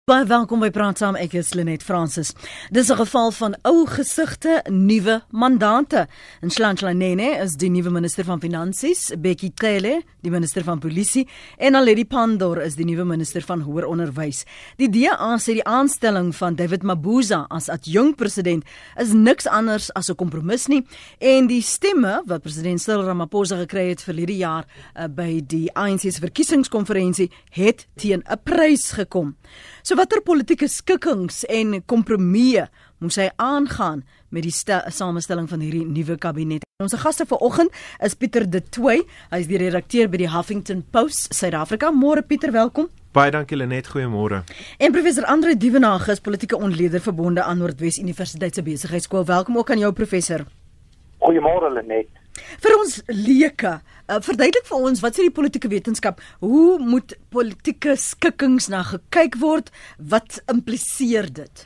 Baie welkom by Praat Saam, ek is Lenet Francis. Dis 'n geval van ou gesigte, nuwe mandate. Nhlanhla Nene is die nuwe minister van Finansies, Bekkie Cele, die minister van Polisie, en Naledi Pandor is die nuwe minister van Hoër Onderwys. Die DA sê die aanstelling van David Mabuza as adjunkt president is niks anders as 'n kompromis nie, en die stemme wat president Cyril Ramaphosa gekry het verlede jaar by die ANC se verkiesingskonferensie het teen 'n prys gekom. So watter politieke skikkings en kompromieë moes hy aangaan met die samestelling van hierdie nuwe kabinet? Ons gaste vanoggend is Pieter de Tooy, hy is die redakteur by die Huffington Post, Suid-Afrika. Môre Pieter, welkom. Baie dankie Lenet, goeiemôre. En professor Andre Duvenage is politieke ontleder verbonde aan Noordwes Universiteit se Besigheidskool. Welkom ook aan jou professor. Goeiemôre Lenet. Vir ons leuke, verduidelik vir ons, wat sê die politieke wetenskap, hoe moet politieke skikkings na gekyk word, wat impliseer dit?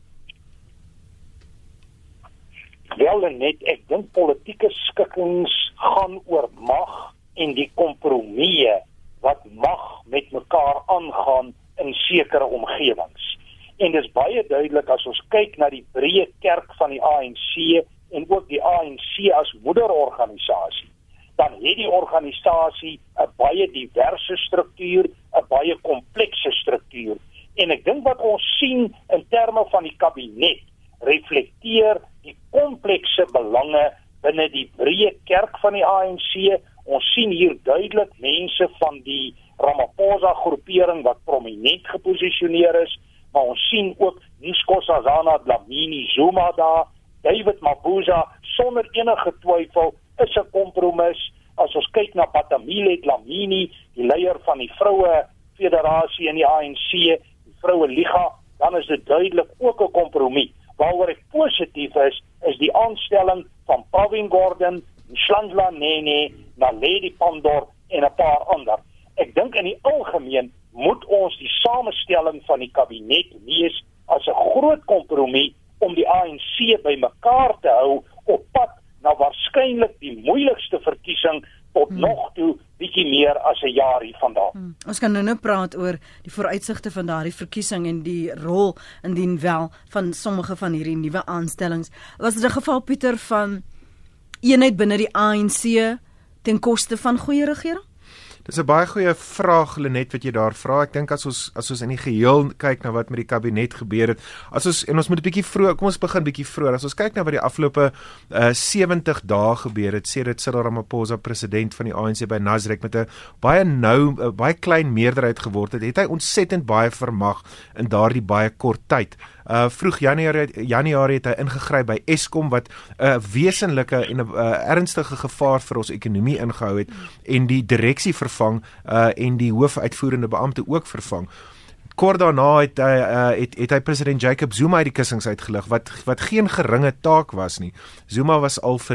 Wel Lenet, ek dink politieke skikkings gaan oor mag en die kompromieë wat mag met mekaar aangaan in sekere omgewings. En dis baie duidelik as ons kyk na die breë kerk van die ANC en ook die ANC as moederorganisasie, dan het die organisasie 'n baie diverse struktuur, 'n baie komplekse struktuur. En ek dink wat ons sien in terme van die kabinet reflekteer die komplekse belange binne die breë kerk van die ANC. Ons sien hier duidelik mense van die Ramaphosa groepering wat prominent geposisioneer is, maar ons sien ook Nkosazana Dlamini Zuma daar. David Mabuza, sonder enige twyfel, is 'n kompromis. As ons kyk na Batamile Dlamini, die leier van die Vroue Federasie in die ANC, die Vroue Liga, dan is dit duidelik ook 'n kompromis. Waaroor ek positief is die aanstelling van Pravin Gordhan, Nhlanhla Nene, Naledi Pandor en 'n paar ander. Ek dink in die algemeen moet ons die samestelling van die kabinet lees as 'n groot kompromis om die ANC by mekaar te hou op pad na waarskynlik die moeilikste verkiesing tot nog toe bietjie meer as 'n jaar hiervandaan. Ons kan nou praat oor die vooruitsigte van daardie verkiesing en die rol indien wel van sommige van hierdie nuwe aanstellings. Was dit 'n geval Pieter van eenheid binne die ANC ten koste van goeie regering? Dis 'n baie goeie vraag Lenet wat jy daar vra. Ek dink as ons in die geheel kyk na wat met die kabinet gebeur het, ons moet 'n bietjie vroeg, kom ons begin bietjie vroeër. As ons kyk na wat die afgelope 70 dae gebeur het, sedert Cyril Ramaphosa president van die ANC by Nasrek met 'n baie klein meerderheid geword het, het hy ontsettend baie vermag in daardie baie kort tyd. Vroeg Januarie het hy ingegryp by Eskom wat 'n wesenlike en 'n ernstige gevaar vir ons ekonomie ingehou het en die direksie vervang en die hoofuitvoerende beampte ook vervang. Kort daarna het hy president Jacob Zuma uit die kussings uitgelig, wat geen geringe taak was nie. Zuma was al vir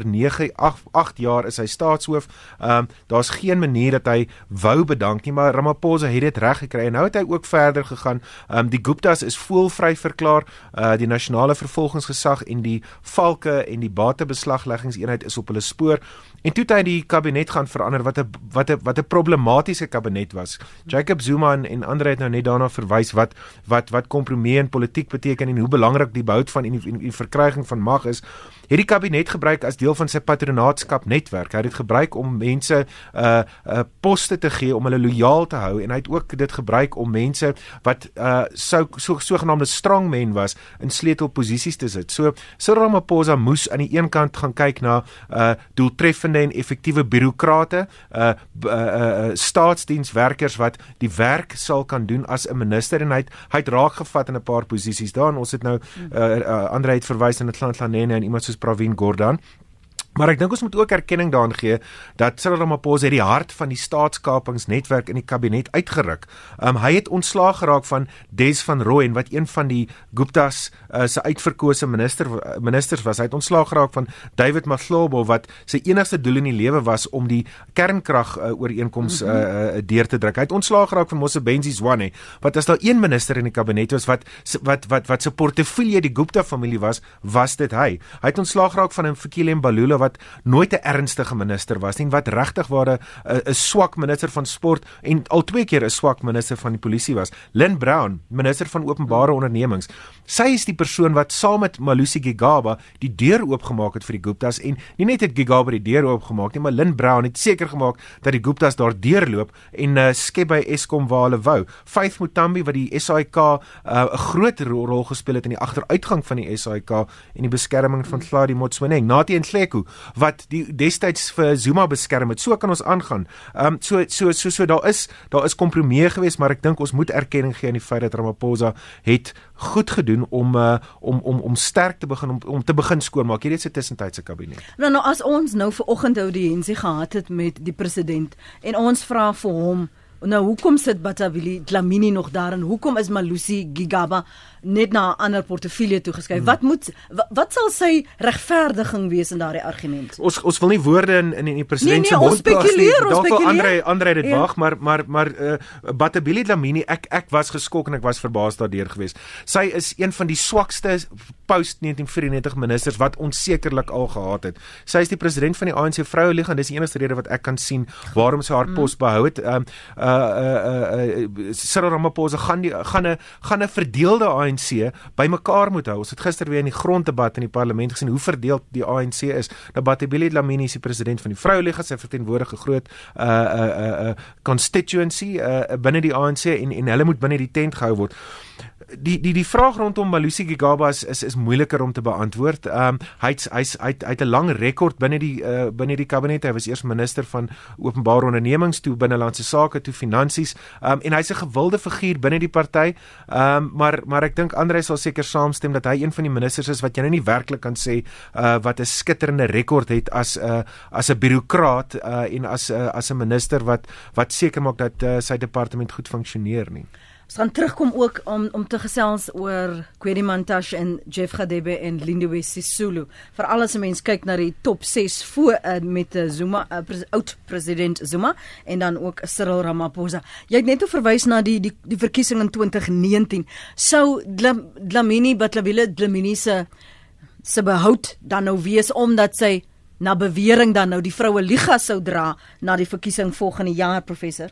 8 jaar is hy staatshoof. Daar's geen manier dat hy wou bedank nie, maar Ramaphosa het dit reg gekry en nou het hy ook verder gegaan. Die Guptas is voelvry verklaar, die nasionale vervolgingsgesag en die valke en die batebeslagleggingseenheid is op hulle spoor. En toe het hy die kabinet gaan verander wat 'n problematiese kabinet was. Jacob Zuma en ander het nou net daarna verwys wat kompromie in politiek beteken en hoe belangrik die behoud van die verkryging van mag is. Het die kabinet gebruik as deel van sy patronaatskap netwerk. Hy het dit gebruik om mense poste te gee om hulle lojaal te hou en hy het ook dit gebruik om mense wat sogenaamde strongmen was in sleutelposisies te sit. So Cyril Ramaphosa moes aan die een kant gaan kyk na doeltreffende en effektiewe bureaukrate, staatsdienswerkers wat die werk sal kan doen as 'n minister en hy het raak gevat in 'n paar posisies daar en ons het nou Andre het verwys na Nhlanhla Nene en iemand soos Pravin Gordhan. Maar ek dink ons moet ook erkenning daaraan gee dat Cyril Ramaphosa die hart van die staatskapingsnetwerk in die kabinet uitgeruk. Hy het ontslaag geraak van Des van Rooyen wat een van die Guptas se uitverkose ministers was. Hy het ontslaag geraak van David Mahlobo wat sy enigste doel in die lewe was om die kernkrag ooreenkoms deur te druk. Hy het ontslaag geraak van Mosebenzi Zwane wat as daar een minister in die kabinet was wat se portefeulje die Gupta familie was dit hy. Hy het ontslaag geraak van Mfikile Mbalula wat nooit 'n ernstige minister was nie, wat regtig waar 'n swak minister van sport en al 2 keer 'n swak minister van die polisie was. Lynn Brown, minister van openbare ondernemings. Sy is die persoon wat saam met Malusi Gigaba die deur oopgemaak het vir die Guptas en nie net het Gigaba die deur oopgemaak nie, maar Lynn Brown het seker gemaak dat die Guptas daar deurloop en skep by Eskom waar hulle wou. Faith Mutambi wat die SAIK 'n groot rol gespeel het in die agteruitgang van die SAIK en die beskerming van Hladi Motsoeneng. Nathi Nhleko wat die destyds vir Zuma beskerm het. So kan ons aangaan. So daar is kompromie geweest, maar ek dink ons moet erkenning gee aan die feit dat Ramaphosa het goed gedoen om sterk te begin om te begin skoonmaak. Hierdie is 'n tussentydse kabinet. Nou as ons nou vanoggend audiensie gehad het met die president en ons vra vir hom, nou hoekom sit Batabile Dlamini nog daar en hoekom is Malusi Gigaba net na 'n ander portefeulje toegeskuif? Wat sal sy regverdiging wees in daardie argument? Ons wil nie woorde in die president se mond plaas nie. Dalk Andre dit wag, maar Batabile Dlamini, ek was geskok en ek was verbaas daardeur geweest. Sy is een van die swakste post 1994 ministers wat ons sekerlik al gehad het. Sy is die president van die ANC Vroueliga en dis die enigste rede wat ek kan sien waarom sy haar pos behou het. Cyril Ramaphosa gaan 'n verdeelde ANC bymekaar moet hou. Ons het gister weer in die gronddebat in die parlement gesien hoe verdeeld die ANC is. Nou Batabile Dlamini is die president van die Vroueliga, sy verteenwoordig 'n groot constituency binne die ANC en hulle moet binne die tent gehou word. Die vraag rondom Malusi Gigaba is moeiliker om te beantwoord. Hy het 'n lang rekord binne die kabinet. Hy was eers minister van openbare ondernemings, toe binnelandse sake, toe finansies, en hy's 'n gewilde figuur binne die party. Maar ek dink Andre sal seker saamstem dat hy een van die ministers is wat jy nou nie werklik kan sê wat 'n skitterende rekord het as 'n bureaukraat en as 'n minister wat seker maak dat sy departement goed funksioneer nie. Ons gaan terugkom ook om te gesels oor Kwedi Mantashe en Jeff Radebe en Lindiwe Sisulu. Veral as 'n mens kyk na die top 6 voor met Zuma, oud-president Zuma en dan ook Cyril Ramaphosa. Jy het net verwys na die verkiesing in 2019. Sou Batabile Dlamini se behoud dan nou wees omdat sy na bewering dan nou die vroue liga sou dra na die verkiesing volgende jaar, professor?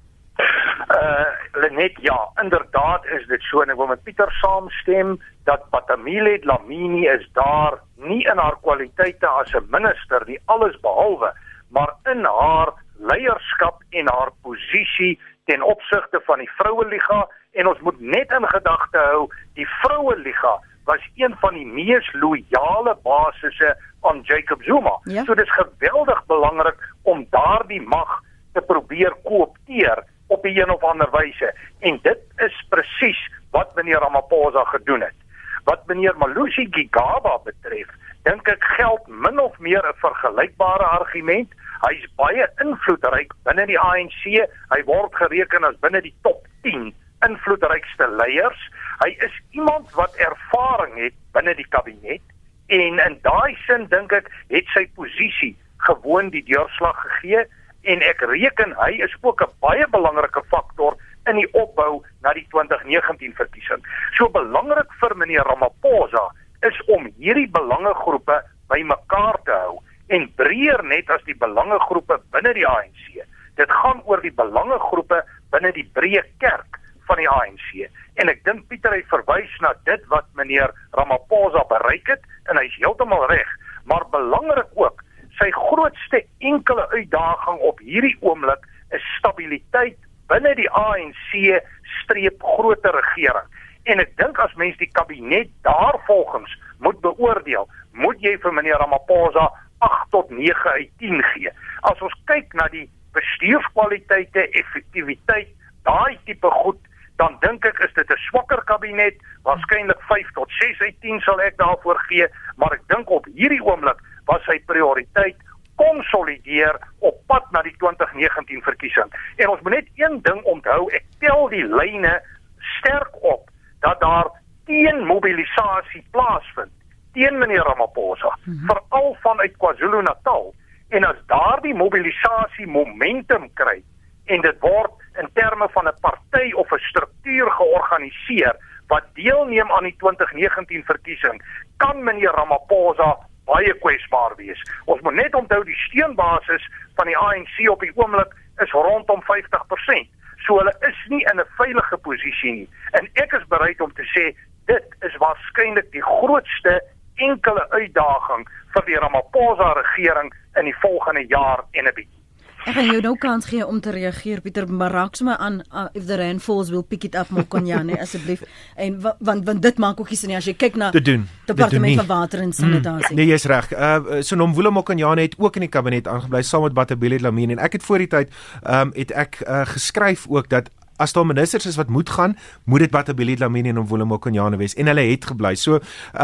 Lenet, ja, inderdaad is dit so en ek wil met Pieter saamstem dat Batabile Dlamini is daar nie in haar kwaliteite as 'n minister nie, alles behalwe, maar in haar leierskap en haar posisie ten opsigte van die Vroueliga en ons moet net in gedagte hou, die Vroueliga was een van die mees loyale basisse aan Jacob Zuma. Ja. So dit is geweldig belangrik om daardie mag te probeer koopteer op 'n of ander wyse. En dit is presies wat meneer Ramaphosa gedoen het. Wat meneer Malusi Gigaba betref, dink ek geld min of meer 'n vergelykbare argument. Hy is baie invloedryk binne die ANC. Hy word gereken as binne die top 10 invloedrykste leiers. Hy is iemand wat ervaring het binne die kabinet en in daai sin dink ek het sy posisie gewoon die deurslag gegee. En ek reken hy is ook 'n baie belangrike faktor in die opbou na die 2019 verkiesing. So belangrik vir meneer Ramaphosa is om hierdie belangegroepe bymekaar te hou en breër net as die belangegroepe binne die ANC. Dit gaan oor die belangegroepe binne die breë kerk van die ANC. En ek dink Pieter het verwys na dit wat meneer Ramaphosa bereik het en hy is heeltemal reg, maar belangrik ook sy grootste enkele uitdaging op hierdie oomblik is stabiliteit binne die ANC streep groter regering. En ek dink as mens die kabinet daarvolgens moet beoordeel, moet jy vir meneer Ramaphosa 8 tot 9 uit 10 gee. As ons kyk na die bestuurskwaliteite, effektiwiteit, daai tipe goed, dan dink ek is dit 'n swakker kabinet, waarskynlik 5 tot 6 uit 10 sal ek daarvoor gee, maar ek dink op hierdie oomblik was sy prioriteit konsolideer op pad na die 2019 verkiesing. En ons moet net een ding onthou, ek tel die lyne sterk op, dat daar teenmobilisasie plaasvind, teen meneer Ramaphosa, veral vanuit KwaZulu-Natal, en as daardie mobilisasie momentum kry, en dit word in terme van 'n party of 'n struktuur georganiseer, wat deelneem aan die 2019 verkiesing, kan meneer Ramaphosa baie kwesbaar wees. Ons moet net onthou die steunbasis van die ANC op die oomblik is rondom 50%. So hulle is nie in 'n veilige posisie nie. En ek is bereid om te sê, dit is waarskynlik die grootste enkele uitdaging vir die Ramaphosa regering in die volgende jaar en 'n bietjie. Ek gaan jou nou kans gee om te reageer, Pieter, maar raak sommer aan, if the rain falls, we'll pick it up, Mokonyane, asseblief. En want dit maak ook nie sin as jy kyk na Departement van Water en Sanitasie. Nee, jy's reg. So Nomvula Mokonyane het ook in die kabinet aangebly saam met Batabile Dlamini, en ek het voor die tyd het ek geskryf ook dat as daar ministers is wat moet gaan, moet dit Batabile Dlamini en Nomvula Mokonyane wees, en hulle het gebly. So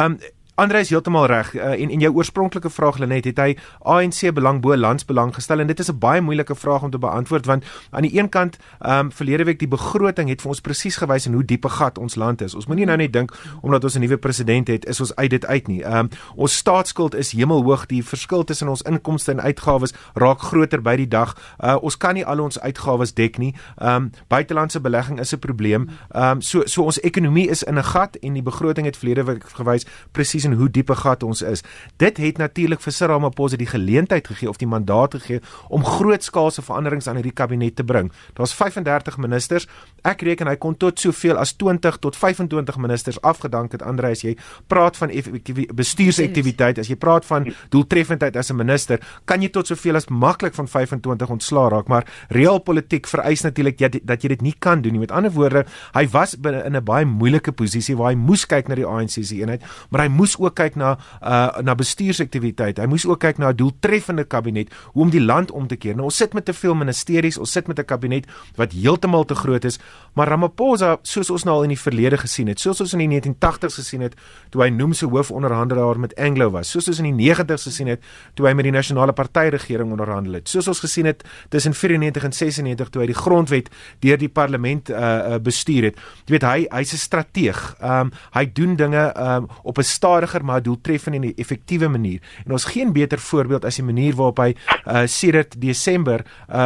Andre is heeltemal reg, en jou oorspronklike vraag, Lenet, het hy ANC belang bo landsbelang gestel, en dit is 'n baie moeilike vraag om te beantwoord, want aan die een kant, verlede week die begroting het vir ons presies gewys in hoe diep 'n gat ons land is. Ons moenie nou net dink, omdat ons 'n nuwe president het, is ons uit dit uit nie. Ons staatsskuld is hemelhoog, die verskil tussen ons inkomste en uitgawes raak groter by die dag. Ons kan nie al ons uitgawes dek nie. Buitelandse belegging is 'n probleem. So ons ekonomie is in 'n gat, en die begroting het verlede week gewys presies en hoe diepe gat ons is. Dit het natuurlik vir Cyril Ramaphosa die geleentheid gegee, of die mandaat gegee, om grootskaalse veranderings aan hierdie kabinet te bring. Daar's 35 ministers, ek reken hy kon tot soveel as 20 tot 25 ministers afgedank het, Andre, as jy praat van bestuursaktiwiteit, as jy praat van doeltreffendheid as 'n minister, kan jy tot soveel as maklik van 25 ontslaa raak, maar realpolitiek vereis natuurlik dat jy dit nie kan doen nie. Met ander woorde, hy was in 'n baie moeilike posisie, waar hy moes kyk na die ANC se eenheid, maar hy moes ook kyk na bestuursaktiwiteit. Hy moes ook kyk na 'n doeltreffende kabinet, hoe om die land om te keer. Nou, ons sit met te veel ministeries, ons sit met 'n kabinet wat heeltemal te groot is, maar Ramaphosa, soos ons nou al in die verlede gesien het, soos ons in die 1980s gesien het, toe hy noem se hoofonderhandelaar met Anglo was, soos ons in die 90s gesien het, toe hy met die Nasionale Party regering onderhandel het, soos ons gesien het tussen 94 en 96, toe hy die grondwet deur die parlement bestuur het. Jy weet, hy's 'n strateeg. Hy doen dinge op 'n stadiger maar doeltreffende en 'n effektiewe manier. En ons geen beter voorbeeld as die manier waarop hy sedert Desember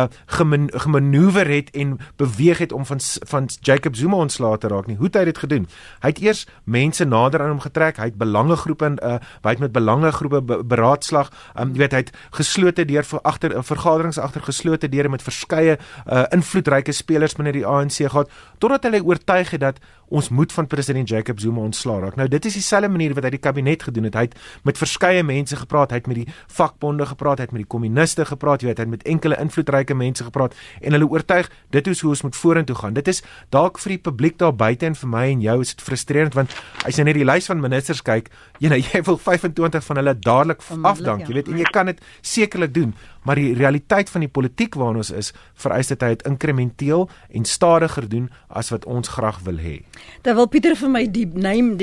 gemanoeuvreer het en beweeg het om van Jacob Zuma ontslae te raak nie. Hoe het hy dit gedoen? Hy het eers mense nader aan hom getrek, hy het belangegroepe met belangegroepe beraadslag, jy weet, hy het geslote deur vergaderings agter geslote deure met verskeie invloedryke spelers binne die ANC gehad, totdat hulle oortuig het dat ons moet van president Jacob Zuma ontslaa raak. Nou, dit is dieselfde manier wat hy die kabinet gedoen het. Hy het met verskeie mense gepraat, hy het met die vakbonde gepraat, hy het met die kommuniste gepraat, jy weet, hy het met enkele invloedryke mense gepraat, en hulle oortuig, dit is hoe ons moet vorentoe gaan. Dit is dalk vir die publiek daar buite, en vir my en jou is dit frustrerend, want as jy net die lys van ministers kyk, jy wil 25 van hulle dadelik afdank, jy weet, en jy kan dit sekerlik doen, maar die realiteit van die politiek waarin ons is, vereis dat hy het inkrementeel en stadiger doen as wat ons graag wil hê. Dan wil Pieter vir my die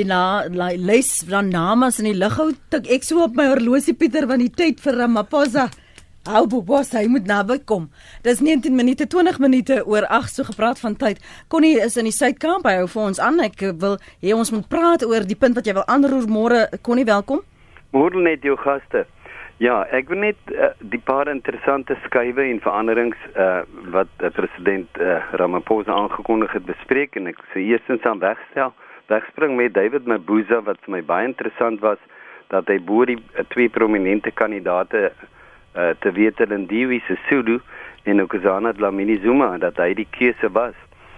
lys van names in die lug hou, ek so op my horlosie, Pieter, want die tyd vir Ramaphosa, hy moet naby kom. Dis 19 minute, 20 minute oor 8, so gepraat van tyd. Connie is in die Suidkamp, hy hou vir ons aan, ek wil hê ons moet praat oor die punt wat jy wil aanroer môre. Connie, welkom. Môre net jou gaste. Ja, ek wil net die paar interessante skuiwe en veranderings wat president Ramaphosa aangekondig het bespreek, en ek sê eerstens aan wegspring met David Mabuza, wat vir my baie interessant was, dat hy bo die twee prominente kandidate te weet Lindiwe Sisulu en Nkosazana Dlamini Zuma, dat hy die keuse was.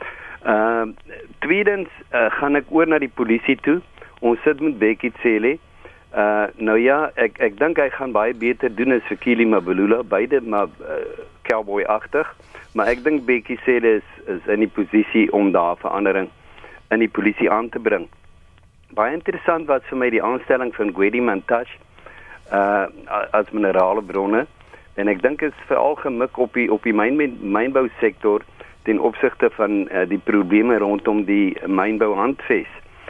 Tweedens gaan ek oor na die polisie toe. Ons sit met Bekkie Cele. Nou ja, ek dink hy gaan baie beter doen as Fikile Mbalula, beide maar cowboy-agtig, maar ek dink Bekkie Cele is in die posisie om daar verandering in die polisie aan te bring. Baie interessant was vir my die aanstelling van Gwedi Mantashe as minerale bronne, en ek dink is veral gemik op die mynbousektor ten opsigte van die probleme rondom die mynbouhandves.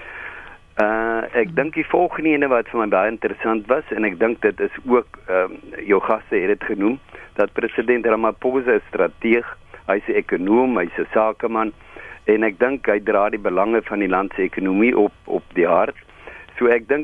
Ek dink die volgende ene wat vir my baie interessant was, en ek dink dit is ook, jou gaste het dit genoem, dat president Ramaphosa is strateeg, hy is 'n ekonoom, hy is 'n sakeman, en ek dink hy dra die belange van die land se ekonomie op die hart. So ek dink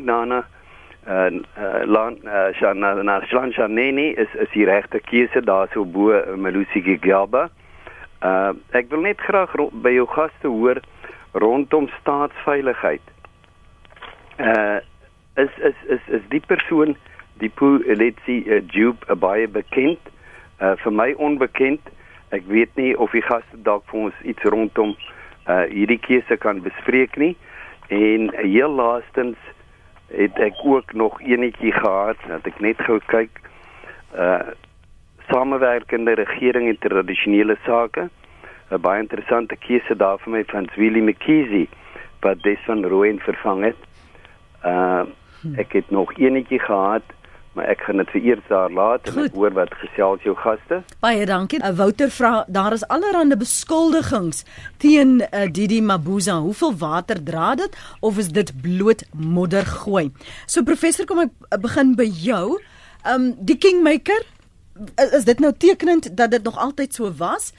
Shlan Shaneni is die regte keuse daar so bo Malusi Gigaba. Ek wil net graag by jou gaste hoor rondom staatsveiligheid. Is die persoon die polisie Dube baie bekend, vir my onbekend. Ek weet nie of die gaste dalk vir ons iets rondom hierdie keuse kan bespreek nie. En heel laastens het ek ook nog enetjie gehad, dat ek net gou kyk, samewerkende regering en tradisionele sake, 'n baie interessante keuse daar vir my van Zweli McKeesie, wat Des van Rooyen vervang het. Ek het nog enetjie gehad, maar ek gaan dit vir eers daar laat en ek hoor wat gesels jou gaste. Baie dankie. Wouter vra, daar is allerhande beskuldigings teen Didi Mabuza. Hoeveel water dra dit of is dit bloot modder gooi? So professor, kom ek begin by jou. Die Kingmaker, is dit nou tekenend dat dit nog altyd so was?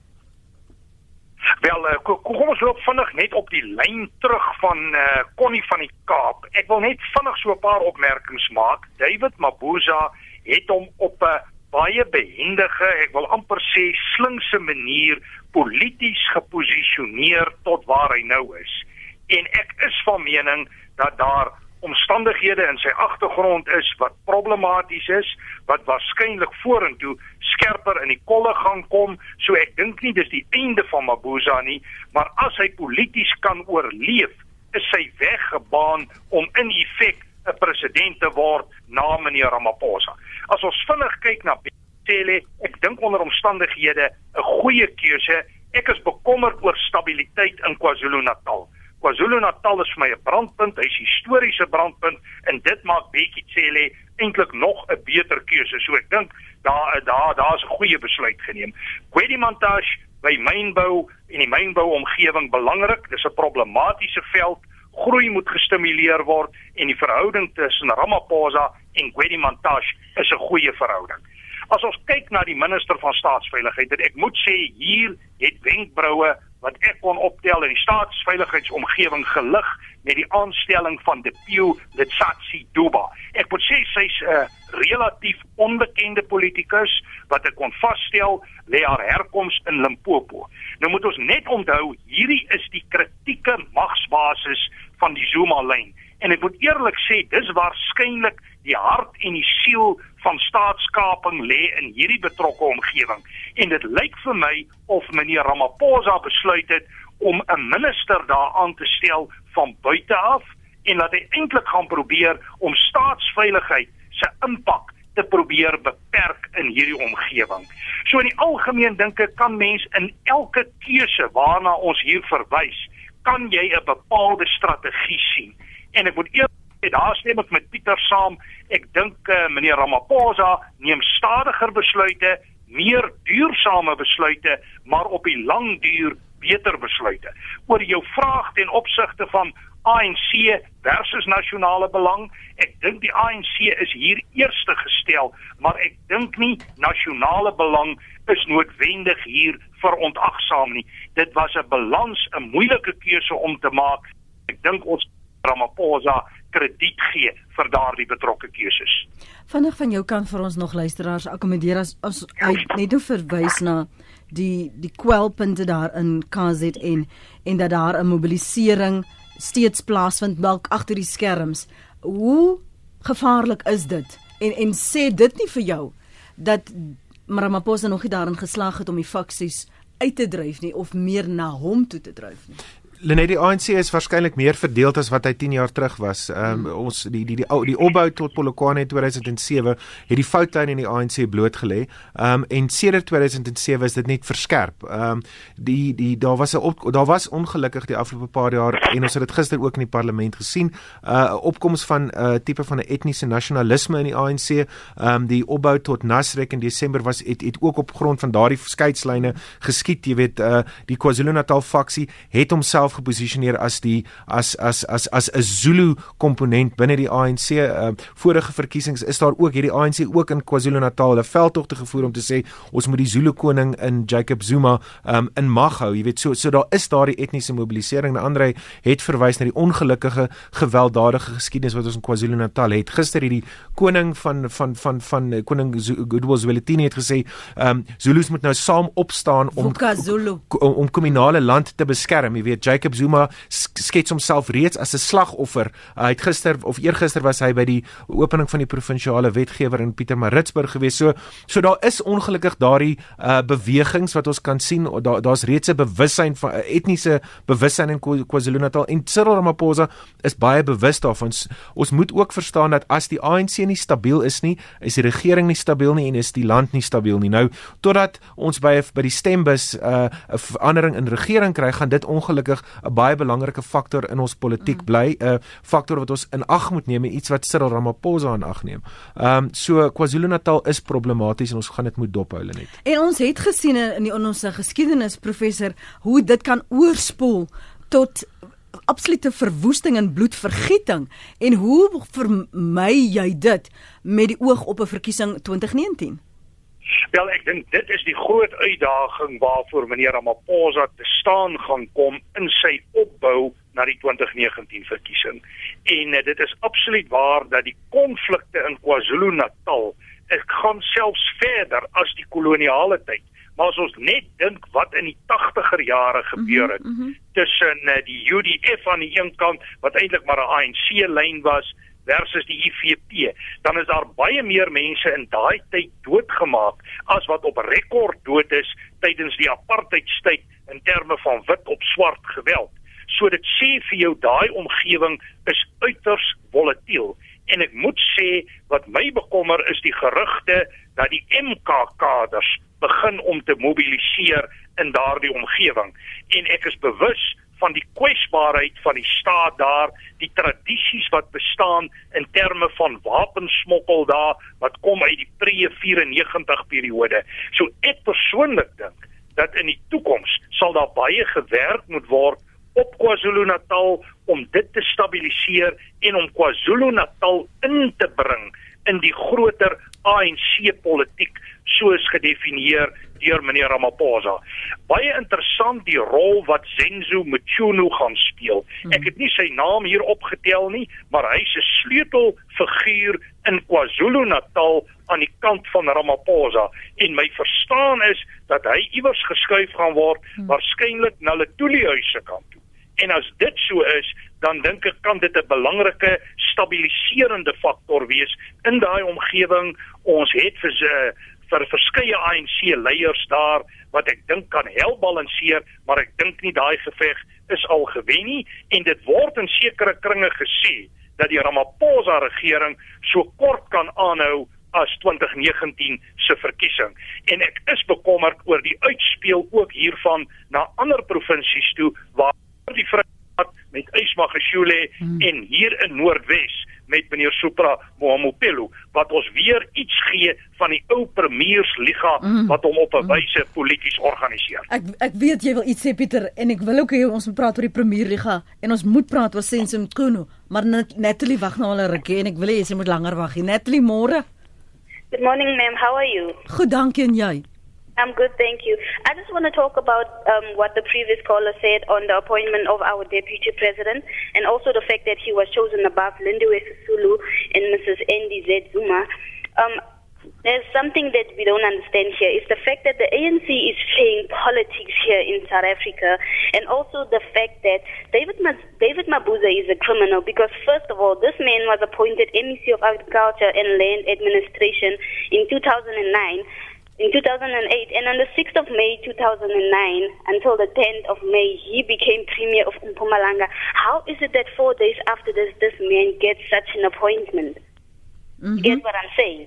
Wel, kom ons loop vinnig net op die lyn terug van Connie van die Kaap. Ek wil net vinnig so 'n paar opmerkings maak. David Mabuza het hom op 'n baie behendige, ek wil amper sê slinkse manier polities geposisioneer tot waar hy nou is. En ek is van mening dat daar omstandighede in sy agtergrond is wat problematies is, wat waarskynlik vorentoe skerper in die kolle gaan kom, so ek dink nie dis die einde van Mabuza nie, maar as hy polities kan oorleef, is sy weg gebaan om in effek 'n president te word na meneer Ramaphosa. As ons vinnig kyk na Cele, ek dink onder omstandighede 'n goeie keuse. Ek is bekommerd oor stabiliteit in KwaZulu-Natal. KwaZulu-Natal is vir my 'n brandpunt, hy's 'n historiese brandpunt en dit maak Bekkie Cele eintlik nog 'n beter keuse. So ek dink daar's 'n goeie besluit geneem. Gwedimantashe by mynbou en die mynbouomgewing belangrik. Dis 'n problematiese veld. Groei moet gestimuleer word en die verhouding tussen Ramaphosa en Gwedimantashe is 'n goeie verhouding. As ons kyk na die minister van staatsveiligheid, en ek moet sê hier het wenkbroue wat ek kon optel in die staatsveiligheidsomgewing gelig met die aanstelling van Dipiu Letsatsi Duba. Ek moet sê sy's 'n relatief onbekende politikus wat ek kon vasstel lê haar herkoms in Limpopo. Nou moet ons net onthou, hierdie is die kritieke magsbasis van die Zuma-lyn. En ek moet eerlik sê, dis waarskynlik die hart en die siel van staatskaping lê in hierdie betrokke omgewing. En dit lyk vir my of meneer Ramaphosa besluit het om 'n minister daar aan te stel van buite af en dat hy eintlik gaan probeer om staatsveiligheid se impak te probeer beperk in hierdie omgewing. So in die algemeen dink ek kan mens in elke keuse waarna ons hier verwys, kan jy 'n bepaalde strategie sien. En ek moet eerlik sê, daar stem ek met Pieter saam. Ek dink meneer Ramaphosa neem stadiger besluite, meer duursame besluite, maar op die lang duur beter besluite. Oor jou vraag ten opsigte van ANC versus nasionale belang, ek dink die ANC is hier eerste gestel, maar ek dink nie nasionale belang is noodwendig hier verontagsaam nie. Dit was 'n balans, 'n moeilike keuse om te maak. Ek dink ons Ramaphosa krediet gee vir daardie betrokke keuses. Vinnig van jou kant vir ons nog luisteraars akkommodeer as net nou verwys na die kwelpunte daar in KZN en dat daar 'n mobilisering steeds plaasvind dalk agter die skerms. Hoe gevaarlik is dit? En sê dit nie vir jou dat Ramaphosa nog nie daarin geslaag het om die faksies uit te dryf nie of meer na hom toe te dryf nie? Lenet, die ANC is waarskynlik meer verdeeld as wat hy 10 jaar terug was. Ons die opbou tot Polokwane in 2007 het die foutlyn in die ANC blootgelê. En sedert 2007 is dit net verskerp. Daar was ongelukkig die afgelope paar jaar en ons het dit gister ook in die parlement gesien, opkoms van tipe van 'n etniese nasionalisme in die ANC. Die opbou tot Nasrek in Desember het ook op grond van daardie skeidslyne geskied. Jy weet, die KwaZulu-Natal faksie het homself geposisioneer as 'n Zulu komponent binne die ANC. Vorige verkiesings is daar ook hierdie ANC ook in KwaZulu-Natal 'n veldtogte gevoer om te sê ons moet die Zulu koning in Jacob Zuma in mag hou. Jy weet, so daar is daardie etniese mobilisering. Andre het verwys na die ongelukkige gewelddadige geskiedenis wat ons in KwaZulu-Natal het. Gister het die koning van koning Goodwill Zwelithini het gesê Zulus moet nou saam opstaan om kommunale land te beskerm. Jy weet, Jacob Zuma skets homself reeds as 'n slagoffer. Hy het gister of eergister was hy by die opening van die provinsiale wetgewer in Pietermaritzburg gewees. So daar is ongelukkig daardie bewegings wat ons kan sien. Daar's reeds 'n bewussyn van etniese bewussyn in KwaZulu-Natal, en Cyril Ramaphosa is baie bewus daarvan. Ons moet ook verstaan dat as die ANC nie stabiel is nie, is die regering nie stabiel nie en is die land nie stabiel nie. Nou, totdat ons by die stembus 'n verandering in regering kry, gaan dit ongelukkig 'n baie belangrike faktor in ons politiek bly, 'n faktor wat ons in ag moet neem, iets wat Cyril Ramaphosa in ag neem. So KwaZulu-Natal is problematies en ons gaan dit moet dophou net. En ons het gesien in ons geskiedenis, professor, hoe dit kan oorspoel tot absolute verwoesting en bloedvergieting. En hoe vermy jy dit met die oog op 'n verkiesing 2019? Wel, ek dink dit is die groot uitdaging waarvoor meneer Ramaphosa te staan gaan kom in sy opbou na die 2019 verkiesing. En dit is absoluut waar dat die konflikte in KwaZulu-Natal gaan selfs verder as die koloniale tyd. Maar as ons net dink wat in die 80er jare gebeur het, tussen die UDF aan die een kant, wat eintlik maar 'n ANC-lyn was, versus die IFP, dan is daar baie meer mense in daai tyd doodgemaak as wat op rekord dood is tydens die apartheidstyd in terme van wit op swart geweld. So dit sê vir jou, daai omgewing is uiters volatiel. En ek moet sê, wat my bekommer is die gerugte dat die MK-kaders begin om te mobiliseer in daardie omgewing. En ek is bewus van die kwesbaarheid van die staat daar, die tradisies wat bestaan in terme van wapensmokkel daar, wat kom uit die pre-94 periode. So ek persoonlik dink, dat in die toekoms sal daar baie gewerk moet word op KwaZulu-Natal om dit te stabiliseer en om KwaZulu-Natal in te bring in die groter ANC-politiek soos gedefinieer deur meneer Ramaphosa. Baie interessant die rol wat Zenzo Mchunu gaan speel. Ek het nie sy naam hier opgetel nie, maar hy's 'n sleutelfiguur in KwaZulu-Natal aan die kant van Ramaphosa. En my verstaan is dat hy iewers geskuif gaan word, waarskynlik na Letuli-huis se kant toe. En as dit so is, dan dink ek kan dit 'n belangrike stabiliserende faktor wees in daai omgewing. Ons het vir verskeie ANC-leiers daar wat ek dink kan help balanseer, maar ek dink nie daai geveg is al gewen nie. En dit word in sekere kringe gesê dat die Ramaphosa-regering so kort kan aanhou as 2019 se verkiesing. En ek is bekommerd oor die uitspeel ook hiervan na ander provinsies toe, waar die Vrystaat met Ismagashule en hier in Noordwes met meneer Supra Mohamopelo, wat ons weer iets gee van die ou premiersliga wat hom op 'n wyse polities organiseer. Ek weet jy wil iets sê, Pieter, en ek wil ook hê ons moet praat oor die premierliga en ons moet praat oor Zenzo Mchunu, maar Natalie wag nou al 'n rukkie en ek wil hê sy moet langer wag. Natalie, môre. Good morning, ma'am. How are you? Goed, dankie, en jy? I'm good, thank you. I just want to talk about what the previous caller said on the appointment of our deputy president, and also the fact that he was chosen above Lindiwe Sisulu and Mrs. NDZ Zuma. There's something that we don't understand here. It's the fact that the ANC is playing politics here in South Africa, and also the fact that David Mabuza is a criminal because, first of all, this man was appointed MEC of Agriculture and Land Administration in 2009. In 2008, and on the 6th of May 2009 until the 10th of May, he became Premier of Mpumalanga. How is it that 4 days after this man gets such an appointment? You get what I'm saying?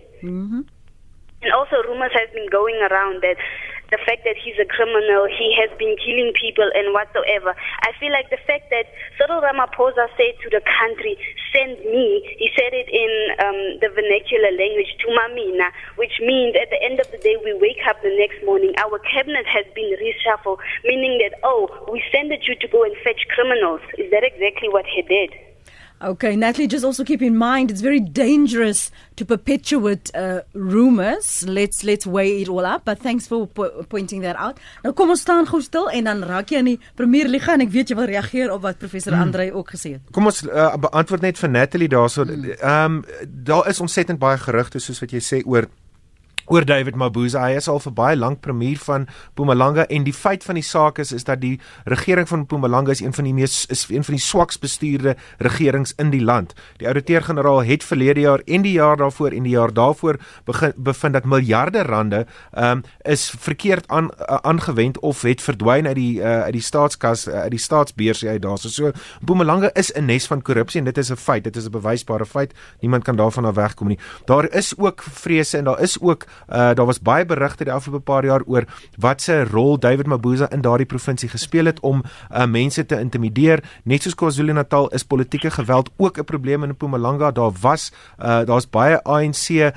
And also rumors have been going around that the fact that he's a criminal, he has been killing people and whatsoever. I feel like the fact that Cyril Ramaphosa said to the country, send me, he said it in the vernacular language, tumamina, which means at the end of the day, we wake up the next morning, our cabinet has been reshuffled, meaning that, we sent you to go and fetch criminals. Is that exactly what he did? Okay, Natalie, just also keep in mind it's very dangerous to perpetuate rumors. Let's weigh it all up, but thanks for pointing that out. Nou kom ons staan gou stil en dan raak jy aan die Premierliga en ek weet jy wil reageer op wat professor Andre ook gesê het. Kom ons beantwoord net vir Natalie daarso. Daar is ontsettend baie gerugte soos wat jy sê oor oor David Mabuza. Hy is al vir baie lank premier van Mpumalanga en die feit van die saak is dat die regering van Mpumalanga is een van die swaks bestuurde regerings in die land. Die ouditeur-generaal het verlede jaar en die jaar daarvoor en die jaar daarvoor bevind dat miljarde rande is verkeerd aangewend of het verdwyn uit die staatskas, uit die staatsbeurs uit daar. So Mpumalanga is 'n nes van korrupsie en dit is 'n feit, dit is 'n bewysbare feit. Niemand kan daarvan af wegkom nie. Daar is ook vrese en daar is ook daar was baie berigte die afgelope paar jaar oor wat se rol David Mabuza in daardie provinsie gespeel het om mense te intimideer. Net soos KwaZulu-Natal is politieke geweld ook 'n probleem in Mpumalanga. Daar's baie ANC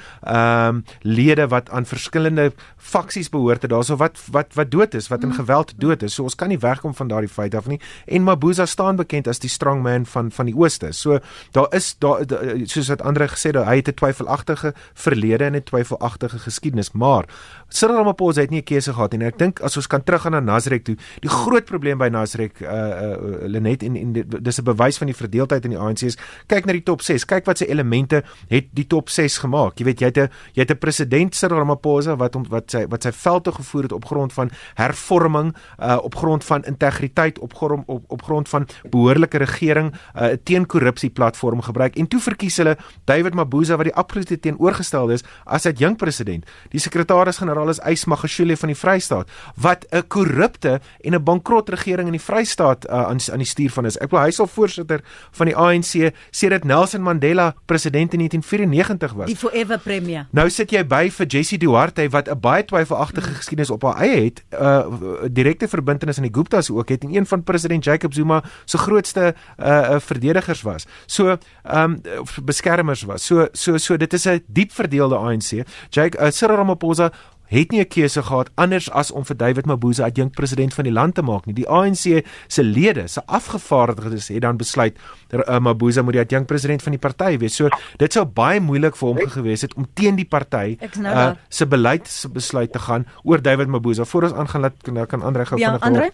lede wat aan verskillende faksies behoort het daarso wat dood is, wat in geweld dood is. So ons kan nie wegkom van daardie feit af nie. En Mabuza staan bekend as die strongman van die Ooste. So daar is soos wat Andre gesê het, hy het 'n twyfelagtige verlede en 'n twyfelagtige geskiedenis, maar Cyril Ramaphosa het nie 'n keuse gehad en ek dink as ons kan teruggaan na Nasrek toe, die groot probleem by Nasrek Lenet en dis 'n bewys van die verdeeldheid in die ANC is, kyk na die top 6, kyk wat sy elemente het die top 6 gemaak. Jy weet, jy het 'n president Cyril Ramaphosa wat sy veldtog gevoer het op grond van hervorming, op grond van integriteit, op grond van behoorlike regering, 'n teen-korrupsie platform gebruik en toe verkies hulle David Mabuza wat die absolute teenoorgestelde is as adjunkt president. Die sekretaris-generaal is Ys Magashule van die Vrystaat wat 'n korrupte en 'n bankrot regering in die Vrystaat aan die stuur van is. Ek bedoel hy is al voorsitter van die ANC sedert Nelson Mandela president in 1994 was. Die forever premier. Nou sit jy by vir Jessie Duarte wat 'n baie twyfelagtige geskiedenis op haar eie het, direkte verbintenis aan die Guptas ook het en een van president Jacob Zuma se grootste verdedigers was. So beskermers was. So dit is 'n diep verdeelde ANC. Cyril Ramaphosa het nie 'n keuse gehad anders as om vir David Mabuza adjunkt president van die land te maak nie. Die ANC se lede, se afgevaardigdes het dan besluit Mabuza moet die adjunkt president van die party wees. So dit sou baie moeilik vir hom gewees het om teen die party se beleidsbesluit te gaan oor David Mabuza. Voor ons aangaan kan Andre gou vinnig Andre?